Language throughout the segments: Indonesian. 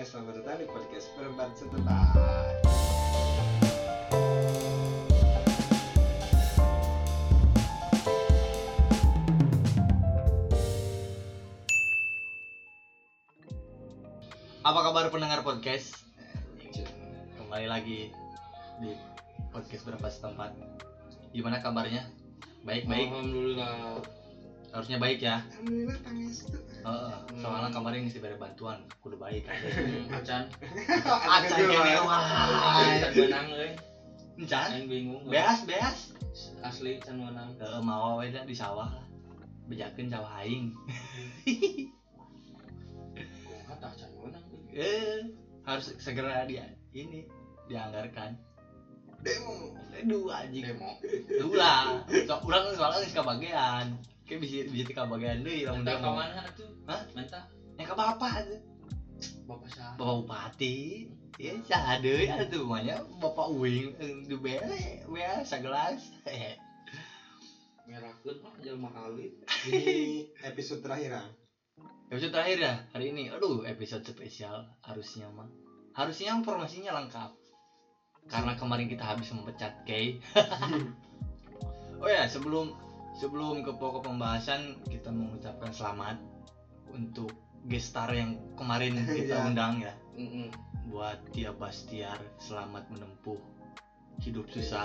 selamat datang di podcast Berempat Setempat. Apa kabar pendengar podcast? Kembali lagi di podcast Berempat Setempat. Gimana kabarnya? Baik-baik? Alhamdulillah. Harusnya baik ya? Alhamdulillah pangestu. Soalnya kemarin ngisi beri bantuan, kudu baik aja. Acan. Acan kene wah. Can menang euy. Encan? Aing bingung. Beas. Asli can menang. Mau we di sawah lah. Bejakeun sawah aing. Kumaha tah can menang. Harus segera dianggarkan. Demo. Dua anjing. Demo. Ulah. Urang soalnya geus kabagean. Kayak bisa kabagean deui lamun Minta ka demo. mana atuh? Hah? Minta Yang ke bapak aja. Bapak saha? Bapak Bupati. Ya saha deui atuh manya Bapak Uing di bere sagelas. Merakeun mah jelema alit. Ini episode terakhir ah. Episode terakhir ya hari ini. Aduh, episode spesial harusnya mah. Harusnya informasinya lengkap. Karena kemarin kita habis memecat Kay. Oh ya, sebelum ke pokok pembahasan, kita mengucapkan selamat untuk gestar yang kemarin kita undang ya. Buat Tia Bastiar, selamat menempuh hidup susah.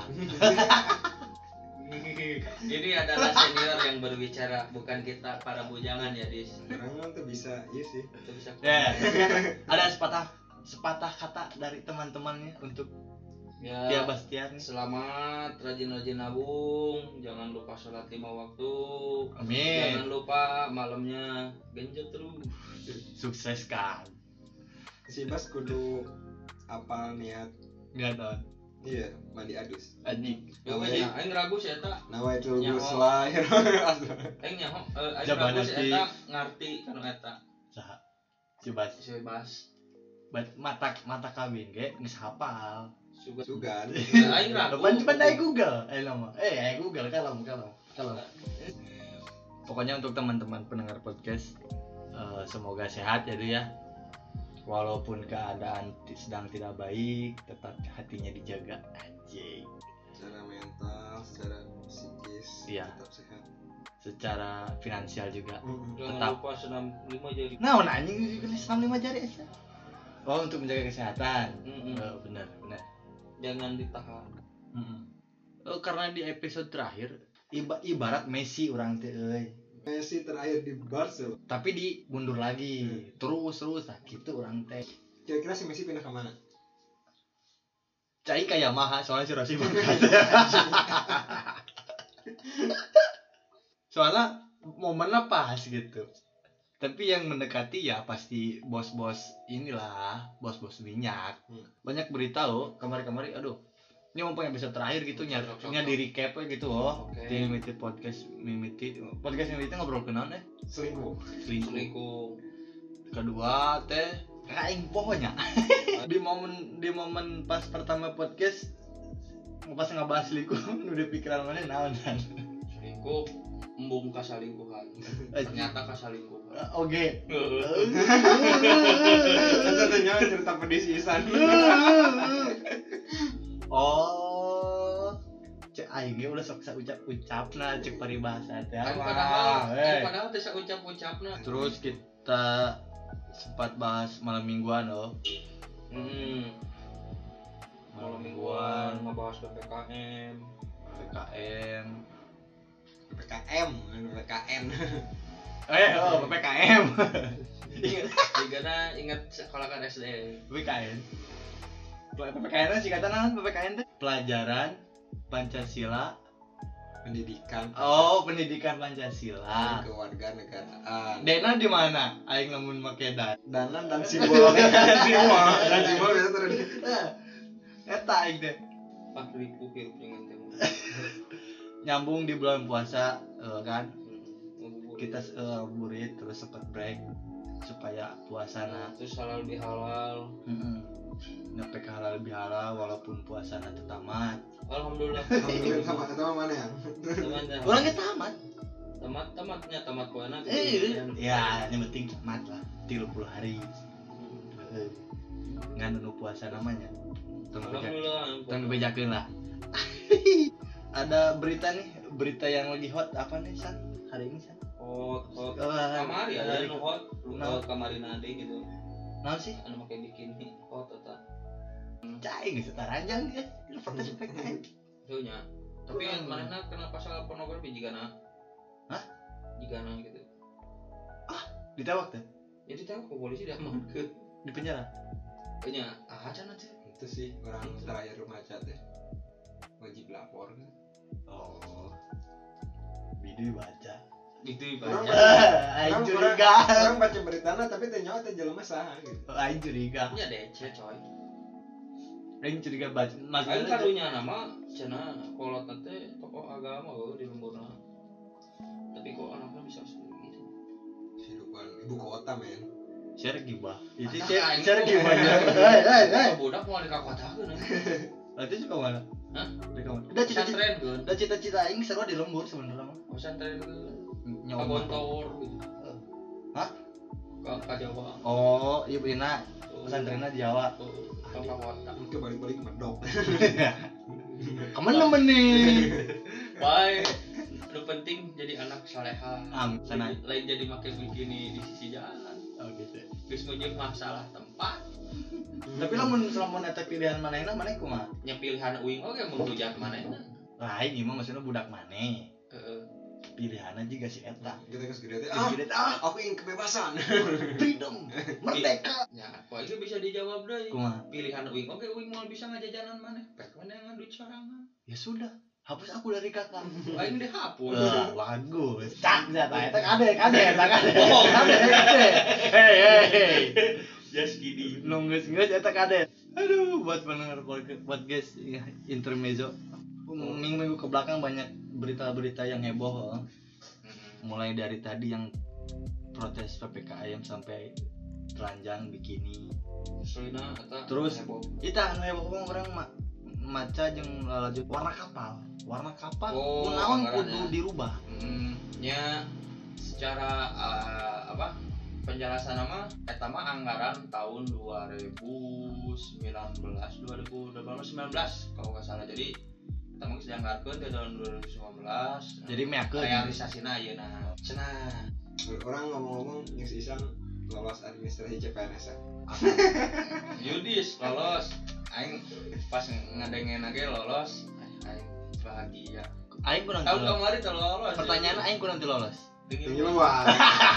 Ini adalah senior yang berbicara, bukan kita para bujangan ya, Dis. Orang tuh bisa, iya sih. Itu bisa. Ya, ada sepatah kata dari teman-temannya untuk Ya, Tia Bastiar nih. selamat, rajin-rajin nabung, jangan lupa sholat 5 waktu. Amin. Jangan lupa malamnya genjot terus. Sukses kan. Si Bas kudu apal niat. Enggak tahu. Iya, mandi adus. Anjing. Ya wes, aing ragu sih eta. Nawaitul Nyaho. ghusla. Aing nyaho, aing Jaban ragu sih nanti. eta ngarti kana eta. Saha? Coba Si bebas. mata kawin ge geus hafal. Sugan. Aing ragu. Coba dari Google. Google kalau. Pokoknya untuk teman-teman pendengar podcast semoga sehat ya. Walaupun keadaan sedang tidak baik, tetap hatinya dijaga anjing. Secara mental, secara psikis Iya. tetap sehat. Secara finansial juga. Jangan Tetap. lupa senam 5 jari. Nah, anjing senam 5 jari aja. Oh, untuk menjaga kesehatan. Benar. Jangan ditahan. Oh, karena di episode terakhir ibarat Messi orang teh euy. Messi terakhir di Barcelona. Tapi dimundur lagi. Terus nah gitu orang teh. Kira-kira si Messi pindah ke mana? Cai kayak Yamaha soalnya si Rossi berangkat. Soalnya momennya pas gitu. Tapi yang mendekati ya pasti bos-bos inilah, bos-bos minyak. Banyak berita kemarin-kemarin aduh. Ini mumpung episode terakhir gitu nya di recap gitu Oke. Di Mimiti podcast Mimiti ngobrol kenaon Selingkuh. Selingkuh. Kedua teh aing pokoknya di momen pas pertama podcast pas ngebahas selingkuh udah pikiran mana naon kan. Selingkuh embung kasalingkuhan. Ternyata kasalingkuhan. Oke. Katanya cerita pedisisan. Oh, cek aing udah sok ucapna cek paribahasa teh. Padahal teh ucap-ucapna. Terus kita sempat bahas malam mingguan Malam mingguan ngebahas PPKM. PPKM. PPKM. PPKM. Ingat sekolah kan SD. PPKN. PPKN sih kata naon PPKN teh? Pelajaran Pancasila. Pendidikan. Oh, pendidikan Pancasila. Kewarganegaraan. Dena di mana? Aing lamun make dan. Danan dan simbol. Dan simbol biasa terus. Eta aing teh. Pak ribu hirup dengan temu. Nyambung di bulan puasa kan. Kita burit terus sempat break supaya puasana terus halal bihalal. Nyampe ke halal bihalal walaupun puasana teu tamat. Alhamdulillah. Sama mana ya? Teman-teman. Urang ge tamat. Tamat poena. Ya, yang penting tamat lah 30 hari. ngan nu puasa namanya. Alhamdulillah. Tong dibejakeun lah. Ada berita nih, berita yang lagi hot apa nih San? Hari ini San? Kamari ada nu hot, kamari nade gitu. Naon sih? Anu make bikini hot eta. Cai geus taranjang ya. Foto spek aja. Tuh nya. Tapi manehna kena pasal pornografi jigana. Hah? Jigana gitu. Ditewak teh Jadi tahu ke polisi diamankeun. di penjara. Nya acan aja. Itu sih orang terakhir remaja teh wajib lapor kan. Oh. Bidu baca. Gitu Orang ibaratnya. Aing orang curiga. orang baca beritana tapi teh nyawa teh jelema saha gitu. Aing curiga. Nya DC coy. Aing curiga baca. Aing Maksudnya karunya nama cenah kolot teh tokoh agama di lemburna. Tapi kok anaknya bisa seperti gitu. Kehidupan ibu kota men. share gibah. Itu Aing share tuh- gibah. Hei. Budak mau dikakotakeun. Nanti suka mana? Hah? Di kamar. Udah cita-cita. Pesantren keun. Udah cita-cita aing seru di lembur sebenarnya mah. Pesantren keun. Nyawa. Kagontor gitu. Hah? Ka Jawa. Oh, iya beuna pesantrenna di Jawa. Ka kota. Ke balik-balik medok. Kemana nih? Baik. Lu penting jadi anak saleha. Sana. Lain jadi make bikini di sisi jalan. Oh gitu. Geus mujeng masalah tempat. Tapi lamun eta pilihan manehna maneh kumaha? Nya pilihan uing oge menghujat manehna. Lain ieu mah maksudna budak maneh. Heeh. Pilihanna juga si eta. Kita geus gede teh. Jadi Aku ingin kebebasan. freedom, merdeka. Ya, kok itu bisa dijawab deui. Kumaha? Pilihan uing oge uing mau bisa ngajajanan maneh. Pek maneh ngan duit sorangan. Ya sudah, hapus aku dari kakak. Aing dihapus. Bagus. Cak eta eta kade. Oh. Kade. Hei. Just kidding. Nunggus eta kade. Aduh, buat pendengar podcast ya, intermezzo. Minggu-minggu ke belakang banyak berita-berita yang heboh. Mulai dari tadi yang protes PPKM sampai telanjang bikini. Soalnya eta Terus heboh. Ita anu heboh orang maca jeung lalaju warna kapal. Oh, Kunaon anggarannya. kudu dirubah. Nya secara penjelasan nama eta mah anggaran tahun 2019 kalau nggak salah. Jadi kita mah geus dianggarkeun di tahun 2019. Jadi meakeun realisasina ayeuna. Cenah. Orang ngomong-ngomong geus isan lolos administrasi CPNS. Yudis lolos. Aing pas ngadengen ge lolos. Aing bahagia. aing kurang Tahun lolos. kemarin teh lolos. Pertanyaan aing kurang lolos. Dingin luar.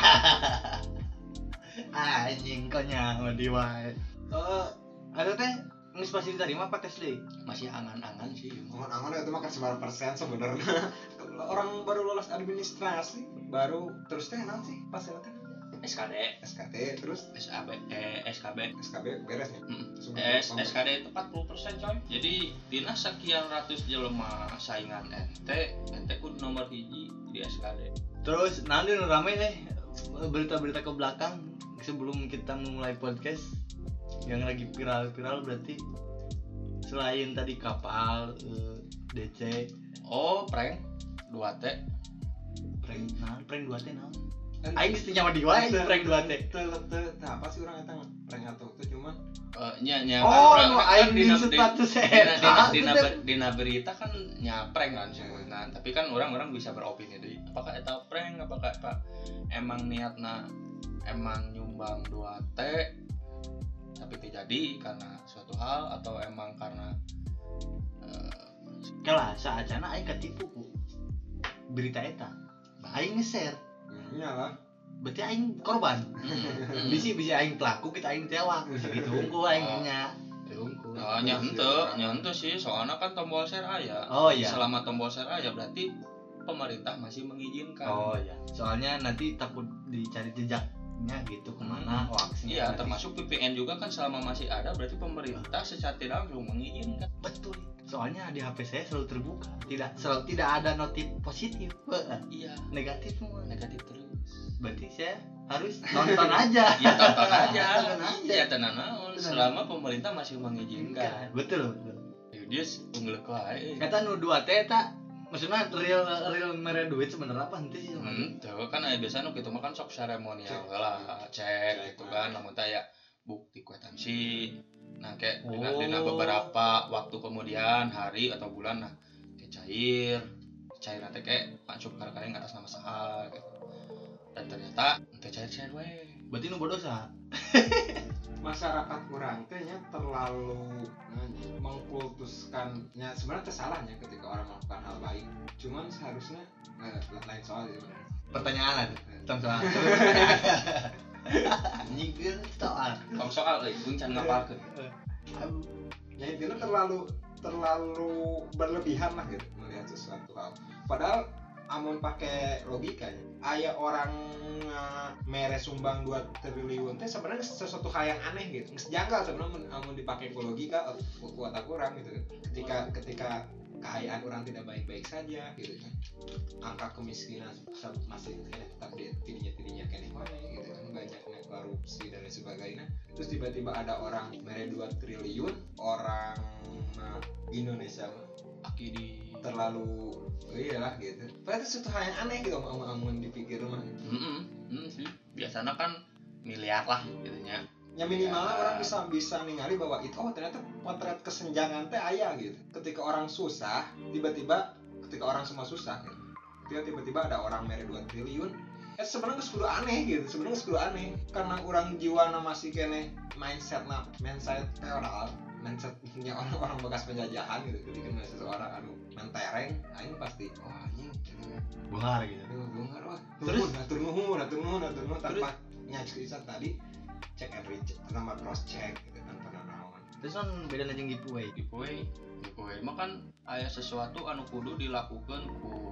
Anjing kau nyawa di wae. Ada teh geus pasti diterima apa tes deui? masih angan-angan sih. Angan-angan itu makan seberapa persen sebenarnya. Orang baru lolos administrasi, baru terus teh naon sih pas teh SKD, SKT terus SKB. SKB beres ya. SKD itu 40% coy. Jadi dina sekian ratus jelema saingan ente kudu nomor hiji di SKD. Terus nanti nu rame nih berita-berita ke belakang sebelum kita memulai podcast yang lagi viral-viral berarti selain tadi kapal DC Oh, prank 2T. prank 2T naon? Aing geus nyawa di wae prank 2T. Apa sih orang eta prank atau itu cuma Nya Oh, kan nu aing di status eta. dina berita kan nyapreng kan sebenarnya. Tapi kan orang-orang bisa beropini deui. Apakah eta prank, apakah emang niatna emang nyumbang 2T tapi tidak jadi karena suatu hal atau emang karena Kalah saacana aing katipu ku berita eta. Aing nge-share. iyalah. Berarti aing korban. Bisi aing pelaku kita aing tewak. Gitu unggul aing nya. Unggul. Nyantu sih soalnya kan tombol share aya. Oh iya. Selama tombol share aya berarti pemerintah masih mengizinkan. Oh iya. Soalnya nanti takut dicari jejaknya gitu kemana hoaxnya. Iya, termasuk VPN juga kan selama masih ada berarti pemerintah secara tidak langsung mengizinkan. Betul. Soalnya di HP saya selalu terbuka. Tidak ada notif positif. Iya, Negatif semua. negatif terus. Berarti saya harus nonton aja. Ya tonton aja. Tonton aja. Iya, tenan naon selama pemerintah masih mengizinkan. Betul. Yudis unggul wae. Kata nu 2T eta maksudnya real mere duit sebenarnya apa henteu sih sebenarnya? Tuh kan aya biasa nu kitu mah kan sok seremonial lah, cek gitu kan lamun teh aya bukti kuetan kondisi. Nah kayak Oh. dengan beberapa waktu kemudian, hari atau bulan, nah kayak cair nanti kayak masuk kadang-kadang atas nama saha gitu. Dan ternyata nanti cair we. Berarti nu berdosa. Masyarakat kurang teh nya terlalu mengkultuskannya, sebenarnya salahnya ketika orang melakukan hal baik, cuman seharusnya lain soal sebenarnya. Pertanyaan lah. Tong soal. Anjing kan soal. Tong soal gue can ngapalkeun. Ya intinya terlalu berlebihan lah gitu melihat sesuatu hal. Padahal amun pakai logika ya, aya orang mere sumbang 2 triliun teh sebenarnya sesuatu hal yang aneh gitu. Geus janggal sebenarnya amun dipakai ku logika kuat kurang gitu. Ketika kekayaan orang tidak baik-baik saja gitu kan. Angka kemiskinan masih tetap di tidinya kene wae gitu kan. Banyaknya korupsi dan lain sebagainya. Terus tiba-tiba ada orang mere 2 triliun, orang Indonesia Aki di terlalu iyalah gitu. Padahal itu suatu hal yang aneh gitu amun dipikir mah. sih. Biasanya kan miliar lah gitu nya. Ya minimalnya orang bisa ningali bahwa itu ternyata potret kesenjangan teh aya gitu. Ketika orang susah, tiba-tiba ketika orang semua susah gitu. Tiba-tiba ada orang mere 2 triliun. Sebenarnya kudu aneh gitu. Sebenarnya kudu aneh karena orang jiwana masih kene mindset feodal. Mindsetnya orang bekas penjajahan gitu. Ketika ada seseorang mentereng, aing pasti anjing gitu. Bungar gitu. Bungar wah. Terus? Atur nuhun tanpa nyaksa tadi check and recheck, tanpa cross check gitu kan pada naon. Terus kan beda jeung giveaway. Giveaway mah kan aya sesuatu anu kudu dilakukan ku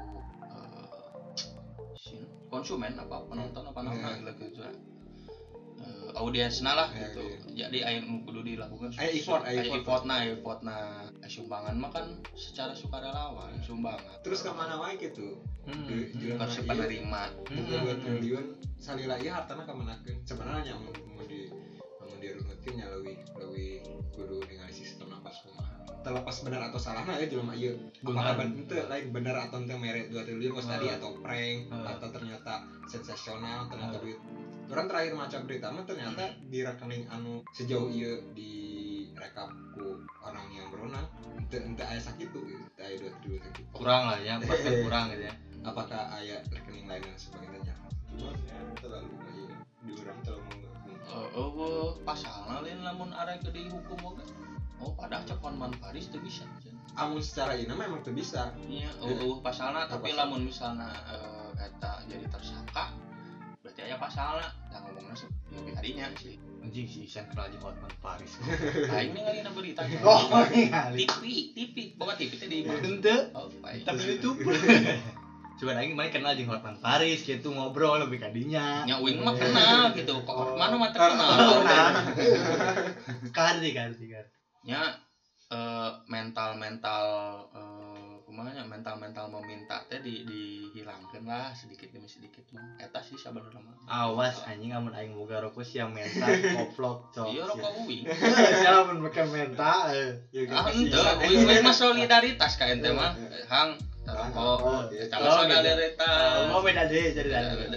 konsumen apa penonton apa namanya gitu. Audiensna lah gitu. Jadi aya nu kudu dilakukan effortna sumbangan mah kan secara sukarelawan sumbangan. Terus ke mana wae gitu. Harus penerima. 2 triliun salila ieu hartana ka manakeun. Sebenarnya mun dirunutkeun nya leuwih kudu ningali sistem napas kumaha. Terlepas benar atau salahna ya jelema ieu. Apakah bener lain bener atau teu mere 2 triliun kos tadi atau prank atau ternyata sensasional, ternyata duit. Orang terakhir maca berita mah ternyata di rekening anu sejauh ieu direkap ku orang yang berwenang ente aya sakitu gitu, aya 2 triliun sakitu. Kurang lah ya, bahkan kurang gitu ya. Apakah aya rekening lain dan sebagainya? Cuma ya terlalu ieu di urang terlalu Pasalna lain lamun arek dihukum oge. Padahal cekon man Paris teu bisa. Amun secara ini memang teu bisa. Iya, pasalna tapi lamun misalna eta jadi tersangka berarti aya pasalna. Nah ngomongna lebih harinya sih. Anjing si Isan kenal jeung Hotman Paris. Aing ningali na berita. Oh, ningali. TV. Bawa TV teh di mana? Henteu. Oh, baik. Tapi YouTube. Coba aing main kenal jeung Hotman Paris gitu ngobrol lebih kadinya. Nya uing mah kenal gitu. Kok mana mah terkenal. Kardi. Nya mental kumanya mental meminta teh dihilangkeun lah sedikit demi sedikit mah. Eta sih sabenerna mah. Awas anjing amun aing boga rokok sia mental koplok cok. Iya rokok uing. Sia mun make mental. Henteu, uing mah solidaritas ka ente mah. Hang rokok. Eta mah solidaritas. Oh beda deh jadi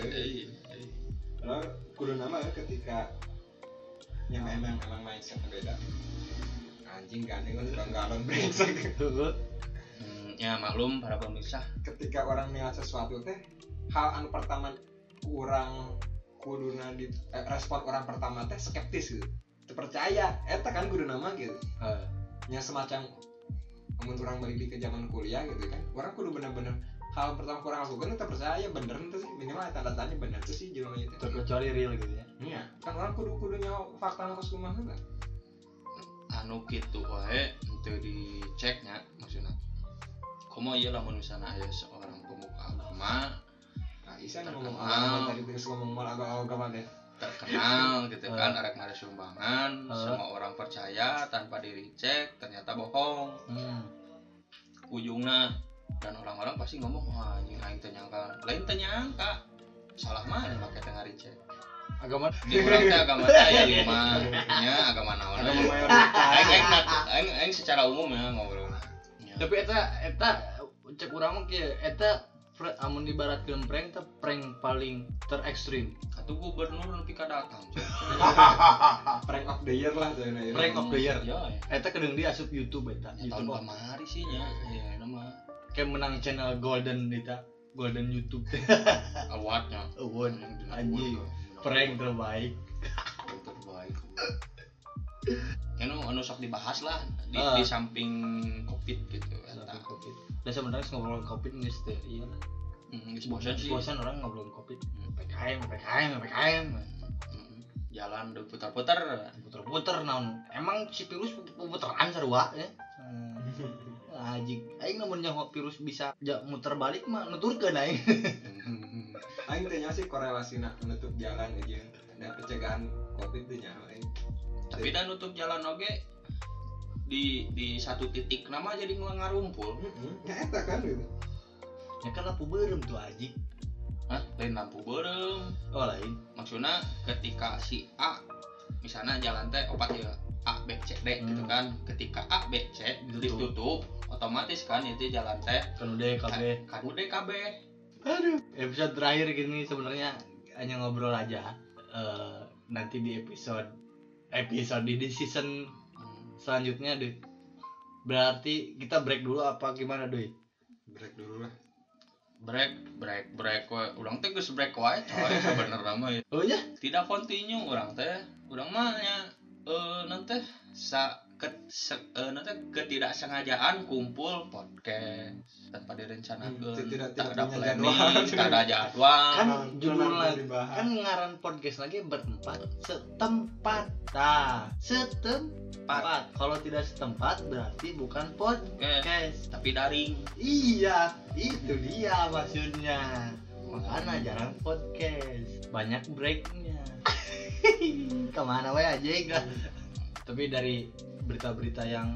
Kalau kudu nama ketika yang memang mindsetnya beda. Anjing gandeng kan galon brengsek. Ya maklum para pemirsa. Ketika orang niat sesuatu teh, hal anu pertama kurang kuduna di respon orang pertama teh skeptis gitu. Teu percaya, eta kan kudu nama gitu. Nya semacam amun urang balik ke zaman kuliah gitu kan. Orang kudu bener-bener hal pertama kurang lakukan teu percaya bener teh sih minimal tanda tanya bener teh sih jelema ieu teh. Terkecuali real gitu ya. Iya, kan orang kudu nyawa fakta nu kumaha kan. Anu kitu wae teu diceknya maksudna. Komo ieu lamun misalna aya seorang pemuka agama Isan ngomong agama tadi terus ngomong mal agama deh. Terkenal gitu kan arek mare sumbangan, semua orang percaya tanpa diricek ternyata bohong. Ujungna dan orang-orang pasti ngomong wah anjing aing teh nyangka. Lain teh nyangka. Salah mah make teh ngaricek. Agama di urang teh agama teh aya 5 nya agama naon. Agama mayoritas. Aing secara umum ya ngobrol. Tapi eta cek urang mah kieu eta amun dibaratkeun prank teh prank paling terekstrim. Atuh gubernur nepi ka datang. Prank of of the year lah tuh. Prank of the year. Ya, Eta kedeng dia asup YouTube eta. tahun YouTube kamari sih nya. Ya nama kayak menang channel Golden eta. Golden YouTube awardnya. Award anjing. Prank terbaik. Terbaik. Anu sok dibahas lah di samping Covid gitu eta. Covid. Dan sebenarnya ngobrolin Covid geus teu ieu lah. Geus bosan sih. Bosan orang ngobrolin Covid. PKM. Jalan udah putar-putar naon. Emang si virus puteran sarua ya. Anjing, aing namun nyaho virus bisa muter balik mah nuturkeun aing. Aing teh nya sih korelasina menutup jalan aja. Dan pencegahan Covid teh nya aing. Tapi dan nutup jalan oge di satu titik nama jadi ngarumpul. Ya eta kan gitu. Ya kan lampu beureum tuh anjing. Hah? Lain lampu beureum. Oh lain. Maksudnya ketika si A misalnya jalan teh opat ya A B C D gitu kan. Ketika A B C ditutup otomatis kan itu jalan teh Kan udah KB. Aduh. Episode terakhir gini sebenarnya hanya ngobrol aja. Nanti di episode di season selanjutnya deh. Berarti kita break dulu apa gimana deh? Break dulu lah. Break we. Urang teh geus break wae coy sebenarnya mah. Oh ya? Tidak continue urang teh. Urang mah nya nanti nanti ketidaksengajaan kumpul podcast tanpa direncanakan, tak ada planning, tak ada jadwal. Kan judulnya kan ngaran podcast lagi bertempat setempat. Setempat. Kalau tidak setempat berarti bukan podcast, tapi daring. Iya, itu dia maksudnya. Makanya jarang podcast, banyak breaknya. Kemana wae aja enggak. Tapi dari berita-berita yang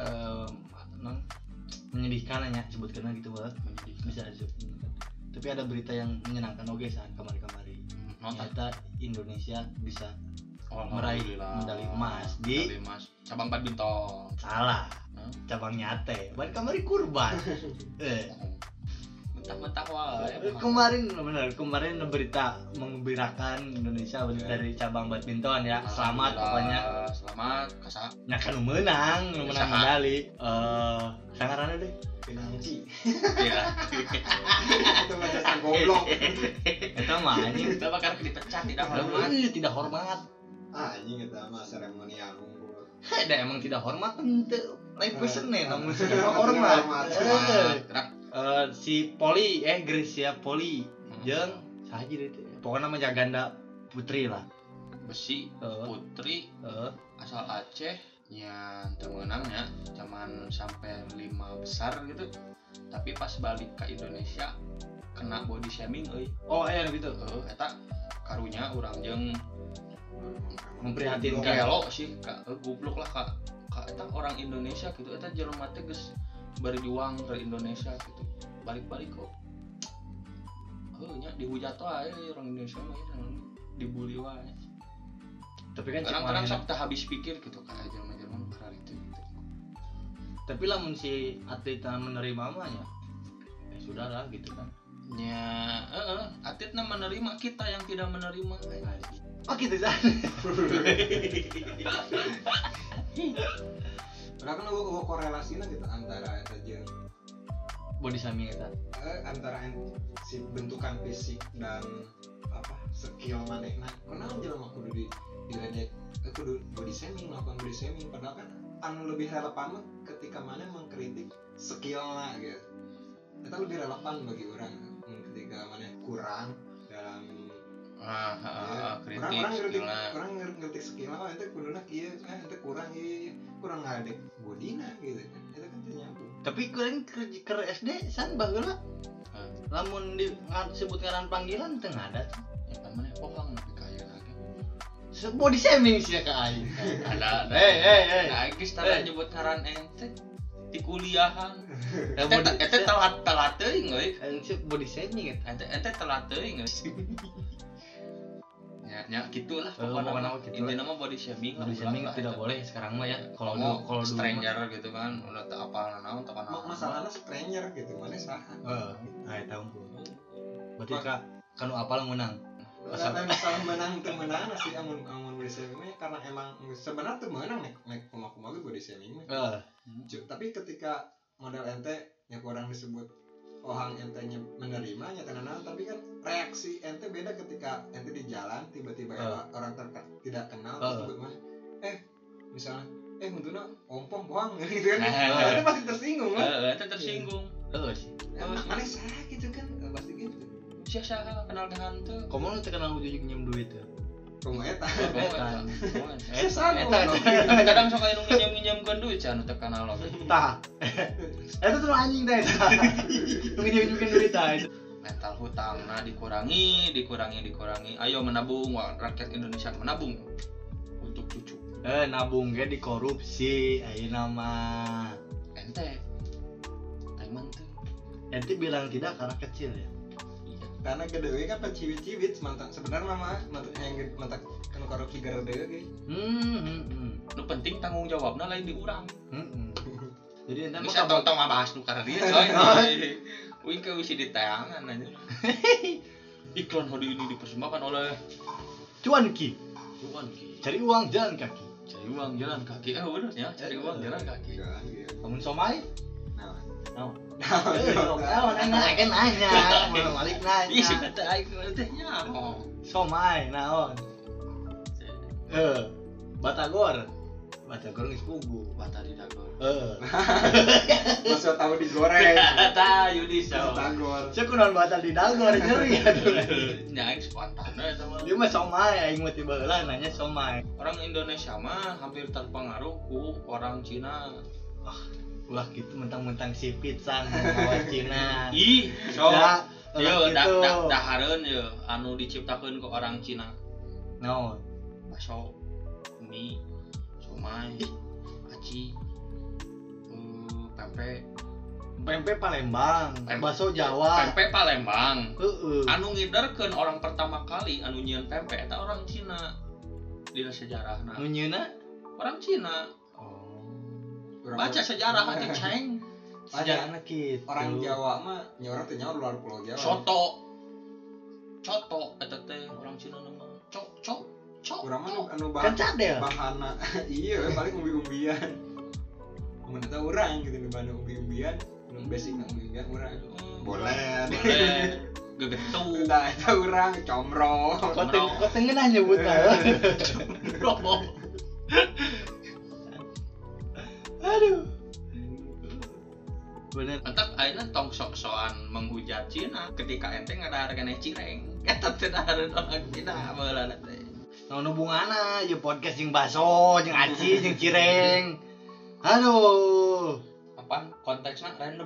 menyedihkan ya sebutkan gitu banget bisa disebut. Tapi ada berita yang menyenangkan oke saat kemarin-kemarin. Ternyata Indonesia bisa meraih medali emas di cabang badminton. Salah. Cabang nyate. Ban kemarin kurban. Mentah-mentah wae. Kemarin berita mengembirakan Indonesia dari cabang badminton ya. Selamat pokoknya. Selamat kasa. Nya kan menang medali. Sangaranna deh. Pinangci. Iya. Itu mah dasar goblok. Eta mah anjing Kita bakal dipecat tidak hormat. Anjing eta mah seremonial unggul. Da emang tidak hormat henteu. Lain peuseun namun hormat. Si Poli Gracia Poli jeung saha jadi teh pokoknya mah jaganda putri lah besi putri asal Aceh nya temenangnya cuman sampai 5 besar gitu tapi pas balik ke Indonesia kena body shaming euy. Oh aya gitu. Eta karunya urang jeung memprihatinkan gelo sih goblok lah ka eta orang Indonesia gitu eta jelema teh geus berjuang ke Indonesia gitu balik-balik kok nya dihujat wae orang Indonesia mah dibully wae tapi kan kadang-kadang sok teh habis pikir gitu kayak Jerman karena itu gitu. Tapi lamun si atletnya menerima mah ya sudah lah gitu kan nya atletnya menerima kita yang tidak menerima oh gitu kan Karena kan gua korelasinya gitu antara eta jeung body shaming eta. Antara si bentukan fisik dan apa skill manehna. Kunaon jelema kudu diledek kudu body shaming, melakukan body shaming padahal kan anu lebih relevan ketika maneh mengkritik skillna gitu. Eta lebih relevan bagi orang ketika maneh kurang dalam kritik orang ngerti skillna ente kuduna kieu ente kurang ngadek bodina gitu kan itu kan nyambung. Tapi kalian ke SD san baheula lamun disebut ngaran panggilan teu ngada ya kan mana pohang tapi kaya lagi body shaming sih ka aing ada nah geus tara nyebut ngaran ente di kuliahan ente telat teuing euy body shaming ente telat teuing geus ya gitulah pokoknya intinya mah body shaming tidak boleh sekarang mah ya kalau stranger gitu kan udah tak apa naon masalahnya stranger gitu mana saha eta unggul berarti kanu apal menang masalah menang teu menang sih amun body shaming karena emang sebenarnya tuh menang naik kumaha body shaming mah. Tapi ketika model ente yang orang disebut orang entenya menerima nyata tapi kan reaksi ente beda ketika ente di jalan tiba-tiba orang tidak kenal terus sebut mana misalnya untuna ompong bohong gitu kan. Ente pasti tersinggung kan. Ente tersinggung. Sih. Mana salah gitu kan pasti gitu. Siapa kenal dengan tuh? Kamu nu terkenal ujug njem duit tuh. Komo eta. Kadang sok anu nginjem-nginjemkeun duit cenah anu teu kenal oge. Tah. Eta tuh anjing teh. Nginjem-nginjemkeun duit tah. Mental hutangna dikurangi. Ayo menabung, rakyat Indonesia menabung untuk cucu. Nabung ge dikorupsi ayeuna mah. Ente. Taiman tuh. Ente bilang tidak karena kecil ya. Karena gede kan penciwit-ciwit mantan sebenarnya mah mantan kan korupsi gara ge. Nu penting tanggung jawabna lain di urang. Jadi ente bisa tong ngabahas nu karena dia coy. Wih ke wisi ditayangan aja. Iklan hari ini dipersembahkan oleh Cuanki. Cari uang jalan kaki. Bener ya, cari uang jalan kaki. Kamu somai? Nanya, balik nanya. Ih, sudah aing teh nya. Somai naon? Batagor geus pugu. Batari dagor. Masa tahu digoreng. Tah Yudi saw. Batagor. Cek kunaon batal di dagor nyeri atuh. Nya aing spontan eta mah. Dia mah somai aing mah tiba heula nanya somai. Orang Indonesia mah hampir terpengaruh ku orang Cina. Wah gitu mentang-mentang si pizza ngawat Cina. Ih, so. Yo gitu. dahareun yo anu diciptakeun ku orang Cina. Naon? Bakso, mie, somai, aci, pempek Palembang, bakso Jawa. Pempek Palembang. Anu ngiderkeun orang pertama kali anu nyieun pempek eta orang Cina. Dina sejarahna. Nu nyieunna orang Cina. Baca sejarah aja ceng. Sejarahna kitu. Orang Jawa mah nyorot teh nyawa luar pulau Jawa. Coto eta teh orang Cina nama. Cok. Urang mah anu kan cadel. Bahana. Iya, paling umbi-umbian. Mun eta urang gitu nu bahan umbi-umbian, nu basic na umbi-umbian urang. Boleh. Gegetu. Eta urang comro. Koteng ngeunah nyebutna. Comro. Aduh. Bener. Entak ayeuna tong sok-sokan menghujat Cina ketika ente ngadahar keneh cireng. Eta teh dahareun orang Cina baheulana teh. Naon hubunganna jeung podcast jeung baso, jeung aci, jeung cireng. Aduh. Apaan konteksnya random?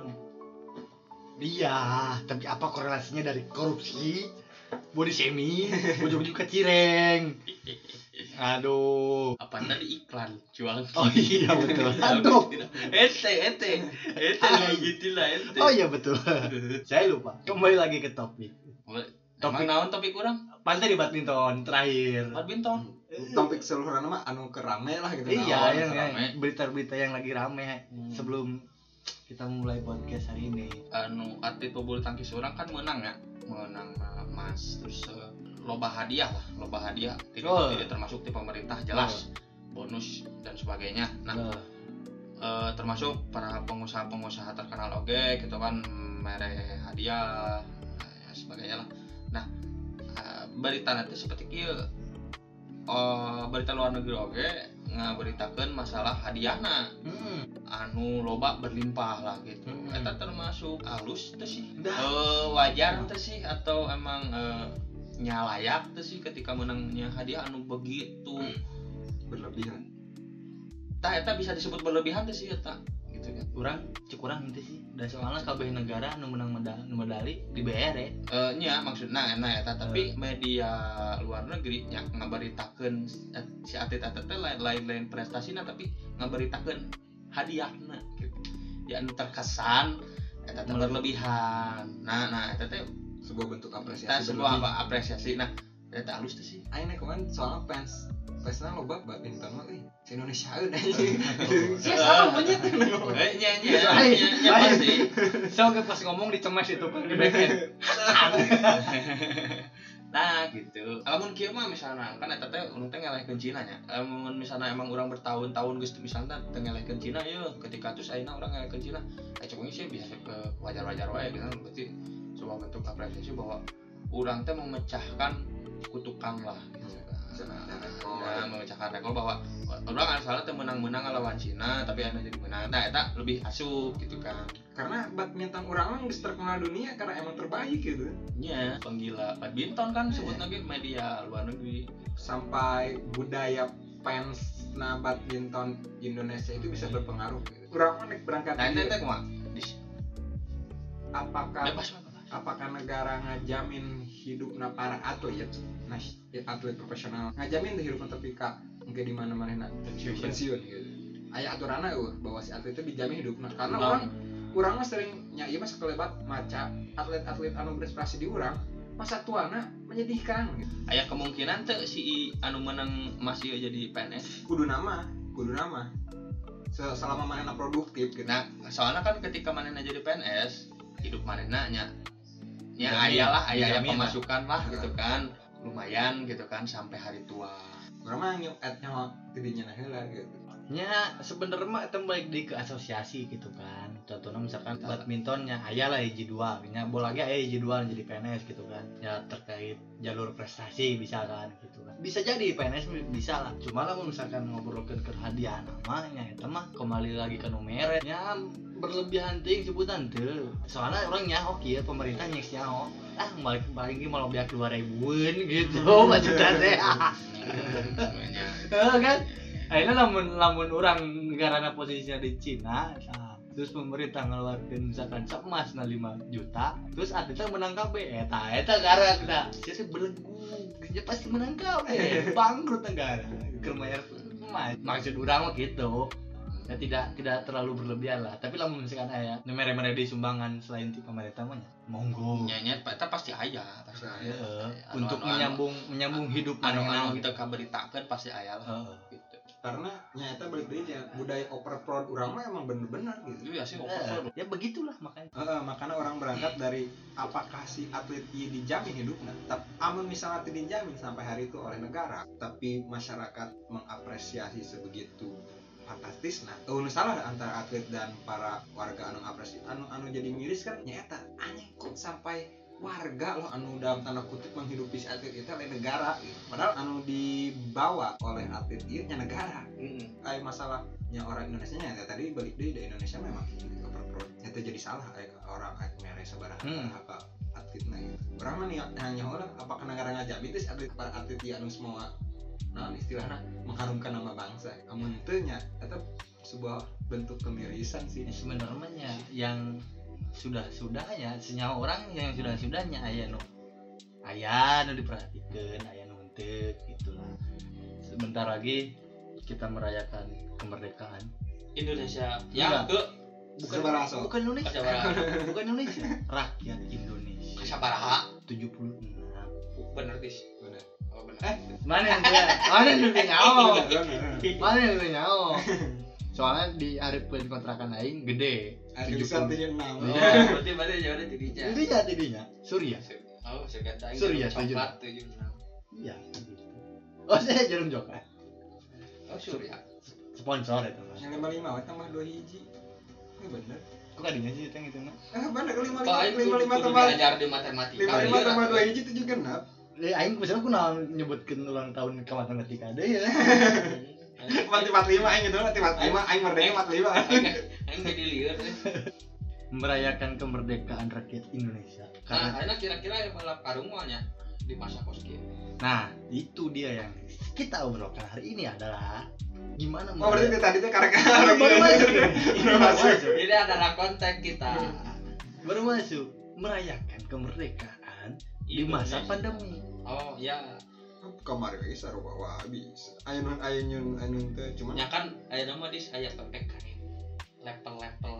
Iya, tapi apa korelasinya dari korupsi, body shaming, ujung-ujung ke cireng? Aduh. Apa tadi iklan jual? Oh iya betul. Aduh. Ente gitulah ente. Oh iya betul. Saya lupa. Kembali lagi ke topik. Topik naon topik kurang? Pantai di badminton terakhir. Badminton. Topik seluruhnya mah anu kerame lah gitu. Iya, yang rame. berita-berita yang lagi rame sebelum kita mulai podcast hari ini. Anu atlet pebulu tangkis orang kan menang emas terus loba hadiah tidak termasuk di pemerintah jelas bonus dan sebagainya. Nah termasuk para pengusaha terkenal oge gitu kan mere hadiah ya sebagainya lah. Nah berita nanti seperti kieu berita luar negeri oge ngaberitakeun masalah hadiahna anu loba berlimpah lah gitu. Eta termasuk halus teh sih wajar teh sih atau emang nyalayak teh sih ketika menangnya hadiah anu begitu berlebihan. Tah eta bisa disebut berlebihan teh sih eta gitu kan. Urang henteu sih. Da soalna kabeh negara anu menang medali dibayar ya. Nya maksudna eta tapi media luar negeri nya ngabaritakeun si atlet-atlet teh lain prestasina tapi ngabaritakeun hadiahna gitu. Ya anu terkesan eta teh berlebihan. Nah eta teh sebuah bentuk apresiasi. Apresiasi. Nah, eta halus teh sih. Aing kemarin soalnya fansna loba badminton mah si Indonesia anjing. Sia salah banyak. Nya pasti. Sok pas ngomong dicemes itu di backend. Nah gitu. Lamun kieu mah misalna kan eta teh urang teh ngelehkeun Cina nya. Lamun misalna emang urang bertahun-tahun geus misalna teu ngelehkeun Cina yeuh ketika terus ayeuna urang ngelehkeun Cina. Cuk sih bisa ke wajar-wajar wae gitu berarti sebuah bentuk apresiasi bahwa urang teh memecahkan kutukan lah gitu kan. Ya memecahkan rekor bahwa urang asalna teh menang-menang lawan Cina tapi anu jadi menang. Nah eta lebih asup gitu kan. Karena badminton orang mah geus terkenal dunia karena emang terbaik gitu. Nya penggila badminton kan sebut lagi media luar negeri. Sampai budaya fans badminton Indonesia itu bisa berpengaruh gitu. Urang mah nek berangkat Nah itu kumaha? apakah negara ngajamin hidupna para atlet atlet profesional ngajamin hidupna tapi ka engke di mana-mana pensiun gitu. Aya aturanna bahwa si atlet itu dijamin hidupna karena urang mah sering nya ieu mah sakelebat maca atlet-atlet anu berprestasi di urang masa tuana menyedihkan gitu. Aya kemungkinan teh si anu menang masih jadi PNS. Kudu nama selama manehna produktif gitu. Nah, soalnya kan ketika manehna jadi PNS, hidup manehna nya aya pemasukan lah gitu kan. Lumayan gitu kan sampai hari tua. Urang mah nyawa tidinya heula gitu. Ya sebenarnya mah itu balik di ke asosiasi gitu kan. Contohnya misalkan badmintonnya aya lah hiji dua, nya bola ge aya hiji dua jadi PNS gitu kan. Ya terkait jalur prestasi bisa kan gitu kan. Bisa jadi PNS bisa lah. Cuma lah misalkan ngobrolkeun ke hadiah mah nya eta mah kembali lagi ke numere. Ya berlebihan ting sebutan teu. Soalnya orang nyaho kieu pemerintah nyek nyaho. Balik mau biak 2000-an gitu maksudnya teh. Kan akhirnya lamun orang negarana posisinya di Cina, nah, terus pemerintah ngeluarkan misalkan emas 5 juta, terus atletnya menang kabeh, eta gara kita, sih belenggu, dia pasti menang kabeh, bangkrut negara, kermayar emas, maksud orang mah gitu, ya tidak terlalu berlebihan lah, tapi lamun misalkan aya mere-mere di sumbangan selain ti pemerintah mah monggo, nyanya eta pasti aya, untuk menyambung hidup anu kita kaberitakeun pasti aya lah, gitu. Karena nyata balik deui budaya overproud urang mah emang bener-bener gitu. Iya sih overproud. Ya begitulah makanya. Makanya orang berangkat dari apakah si atlet ieu dijamin hidupna. Tapi amun misalnya tidak dijamin sampai hari itu oleh negara, tapi masyarakat mengapresiasi sebegitu fantastis. Nah, salah antara atlet dan para warga anu apresiasi anu jadi miris kan nyata aneh kok sampai warga loh anu dalam tanda kutip menghidupi si atlet itu oleh negara gitu. Padahal anu dibawa oleh atlet itu nya negara. Kayak masalahnya orang Indonesia nya tadi balik deui di Indonesia memang overproud. Itu jadi salah orang mere sabaraha apa atletna gitu. Urang mah hanya orang apakah negara ngajamin itu atlet para atlet anu semua naon istilahna mengharumkan nama bangsa. Amun teu nya eta sebuah bentuk kemirisan sih. Sebenarnya yang sudah-sudahnya senyawa orang yang sudah-sudahnya aya nu diperhatikan aya nu henteu gitulah. Sebentar lagi kita merayakan kemerdekaan Indonesia ya ke bukan Indonesia bukan Indonesia rakyat Indonesia sabaraha 76 bener dis Bener. oh bener mana yang nyaho soalnya di hareupeun kontrakan aing gede 76. berarti jauh tidinya Surya oh segala Surya 76 iya gitu. Oh saya jarum jokan oh Surya sponsor itu mah Yang 55 tambah 2 hiji. Ini bener. kok kadinya sih teh gitu mah Bener 55 tambah ajar di matematika 55 tambah 2 hiji 7 genap. Aing misalnya aku nyebutkeun ulang tahun ke matematika deui ya. 45 aing gitu 45 aing merdeka 45. Aing jadi lieur deh. Merayakan kemerdekaan rakyat Indonesia. Nah, ayeuna kira-kira yang balap karung nya di masa kos kieu. Nah, itu dia yang kita obrolkan hari ini adalah gimana Oh berarti tadi tuh karena baru masuk. Jadi adalah konten kita. Baru masuk merayakan kemerdekaan di masa pandemi. Oh ya. Kemarin lagi sarupa wah bisa. Ayun teh cuma Ya kan ayeuna mah dis aya PPKM. Level.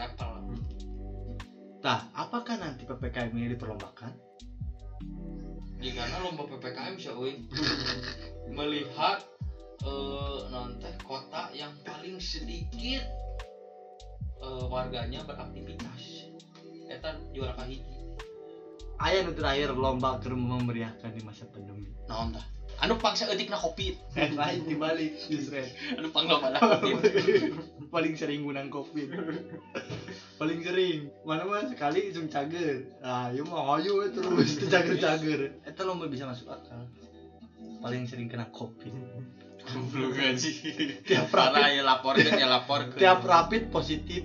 Tah, apakah nanti PPKM ini diperlombakan? Jika lomba PPKM bisa melihat nanti kota yang paling sedikit warganya beraktivitas. Eta juara kahiji. aya nu terakhir lomba keur memeriahkan di masa pandemi. Naon tah? Anu pangsa eutikna Covid. Lain dibalik justru. Anu panglomana Covid. Paling sering gunang Covid. Paling sering. Mana mah sekali isung cager. Nah, ieu mah hayu terus cager-cager. Eta lomba bisa masuk akal. Paling sering kena Covid. Goblok aja. Tiap Parah rapid, ya laporkeun. tiap rapid positif.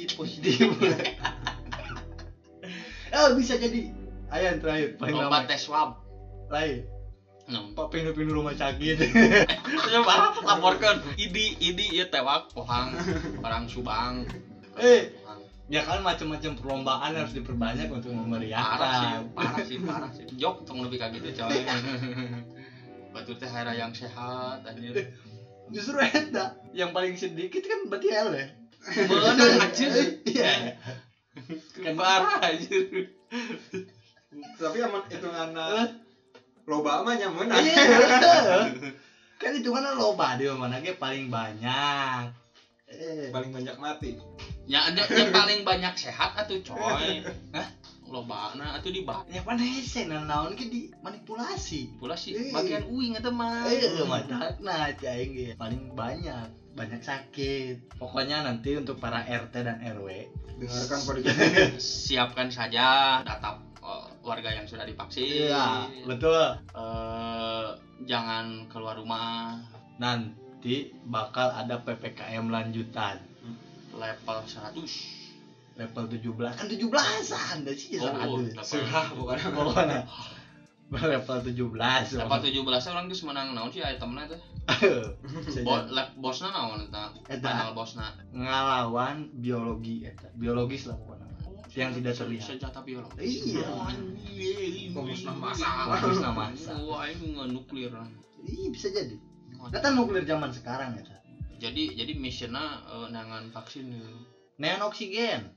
Bisa jadi. Aya yang terakhir paling lomba lama. tes swab. Lain. Pak pindah-pindah rumah sakit. Coba laporkan idi ieu tewak pohang orang Subang. Ya kan macam-macam perlombaan harus diperbanyak untuk memeriahkan. Parah sih. Jok tong lebih kayak gitu coy. Batur teh hari yang sehat anjir. Justru eta yang paling sedikit kan berarti L ya. Bener anjir. Iya. Kan parah anjir. Tapi aman hitunganna loba mah nyamun. Iya. Kan hitunganna loba di mana ge paling banyak. Paling banyak mati. Ya ada yang paling banyak sehat atuh coy. Hah? Lobana atuh dibah. Ya pan hese naon ge di manipulasi. Pula sih bagian uing eta mah. Matakna aing ge paling banyak sakit. Pokoknya nanti untuk para RT dan RW Dengarkan podcast ini. Siapkan saja data warga yang sudah divaksin. Iya, betul. Jangan keluar rumah. Nanti bakal ada PPKM lanjutan. Level 100. Level 17 kan 17-an dah sih Surah bukan. Pokoknya level 17. Level 17 orang geus menang naon sih itemna teh? Bosna naon eta? Final bosna ngalawan biologi eta. Biologis lah pokoknya. Yang tidak terlihat. Senjata biologi. Iya. Pemusnah massa. Wah, ini nuklir. Iya bisa jadi. Kata nuklir zaman sekarang ya. Jadi misinya nangan vaksin gitu. Neangan oksigen.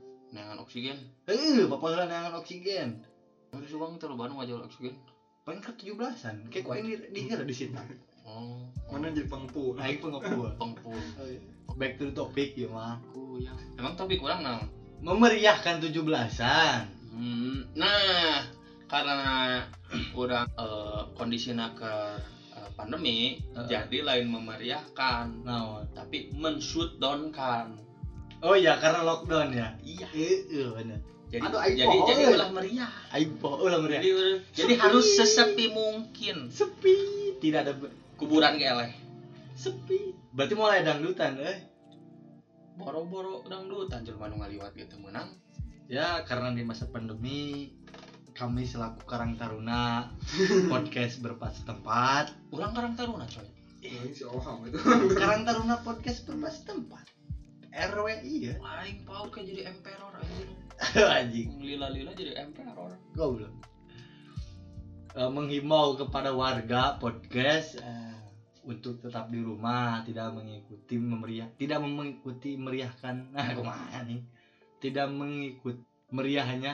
Bapak neangan oksigen. Ada subang terlalu banyak wajah oksigen. Paling ke 17-an. Kayak kau ini dihira di situ. Oh. Mana jadi pengpu? Aing pengepul. Back to the topic ya mah. Ya. Emang topik kurang naon? Memeriahkan 17-an. Nah, karena udah kondisinya ke pandemi, jadi lain memeriahkan, tapi men-shutdown-kan. Oh iya, karena lockdown ya. Iya. Benar. Jadi ulah meriah. Ulah meriah. Jadi harus sesepi mungkin. Sepi, tidak ada kuburan geleh. Sepi. Berarti mulai dangdutan, Boro-boro dangdutan jelema nu ngaliwat gitu menang. Ya, karena di masa pandemi kami selaku Karang Taruna podcast berpas tempat. Urang Karang Taruna coy. Si Oham itu. Karang Taruna podcast berpas tempat. RWI ya. Aing paut kan jadi emperor anjing. Anjing. Lila-lila jadi emperor. Goblok. Menghimbau kepada warga podcast untuk tetap di rumah, tidak mengikuti meriahkan. Nah, kemana nih? Tidak mengikut meriahnya.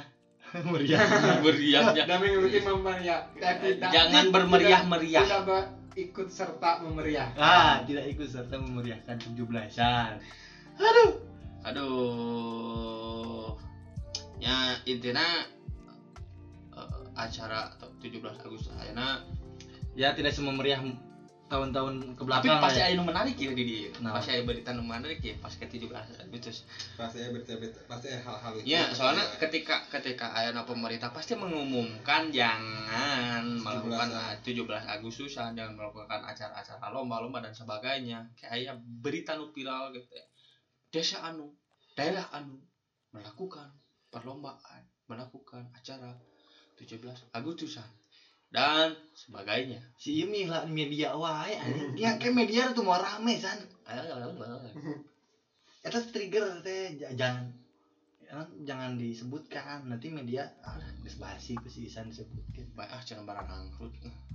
Dan mengikuti memeriah. Jangan bermeriah-meriah. Tidak ikut serta memeriah. Tidak ikut serta memeriahkan 17-an. Aduh. Ya intinya acara 17 Agustus ayeuna ya tidak sememeriah tahun-tahun kebelakang. Tapi pasti aya nu menarik ya di Nah. Pasti aya berita nu menarik ya pas ke 17 Agustus. Pasti ada berita-berita, pasti ada hal-hal itu. Ya, soalnya ketika aya pemerintah pasti mengumumkan jangan melakukan 17 Agustusan, jangan melakukan acara-acara lomba-lomba dan sebagainya. Kayak aya berita nu viral gitu ya. Daerah anu melakukan perlombaan, melakukan acara 17 Agustusan dan sebagainya. Si Imi lah media wae anjing. Yang kayak media tuh mau rame san. Eta trigger teh jangan disebutkan. Nanti media geus basi pesisan disebutkeun. Bae cenah barang angkrut.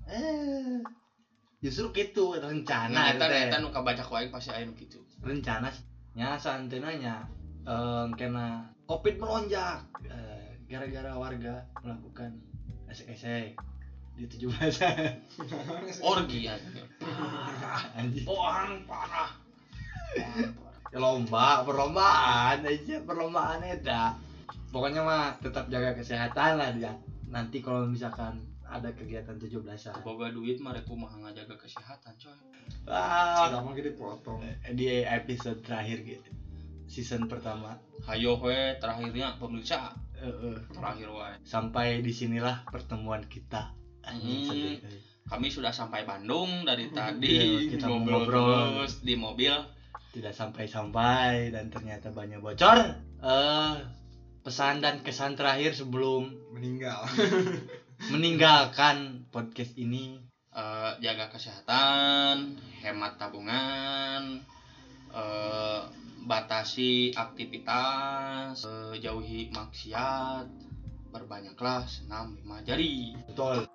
Justru gitu rencana Eta nu kabaca ku aing pasti aya nu kitu. Rencana nya santenanya kena Covid melonjak gara-gara warga melakukan esek-esek di 17-an. Orgi anjing. Anjing. Parah. Ya perlombaan aja, perlombaan eta. Pokoknya mah tetap jaga kesehatan lah dia. nanti kalau misalkan ada kegiatan 17-an. Boga duit mah rek kumaha ngajaga kesehatan coy. Wah, Gampang gitu dipotong. di episode terakhir gitu. Season pertama. Hayo we terakhirnya pemirsa Heeh. terakhir wae. Sampai disinilah pertemuan kita. Anjing, sedih. Kami sudah sampai Bandung dari tadi Iya, kita ngobrol ngobrol. terus di mobil. Tidak sampai-sampai dan ternyata banyak bocor. Pesan dan kesan terakhir sebelum Meninggal. meninggalkan podcast ini. Jaga kesehatan, hemat tabungan, batasi aktivitas, jauhi maksiat, berbanyaklah senam 5 jari. Betul.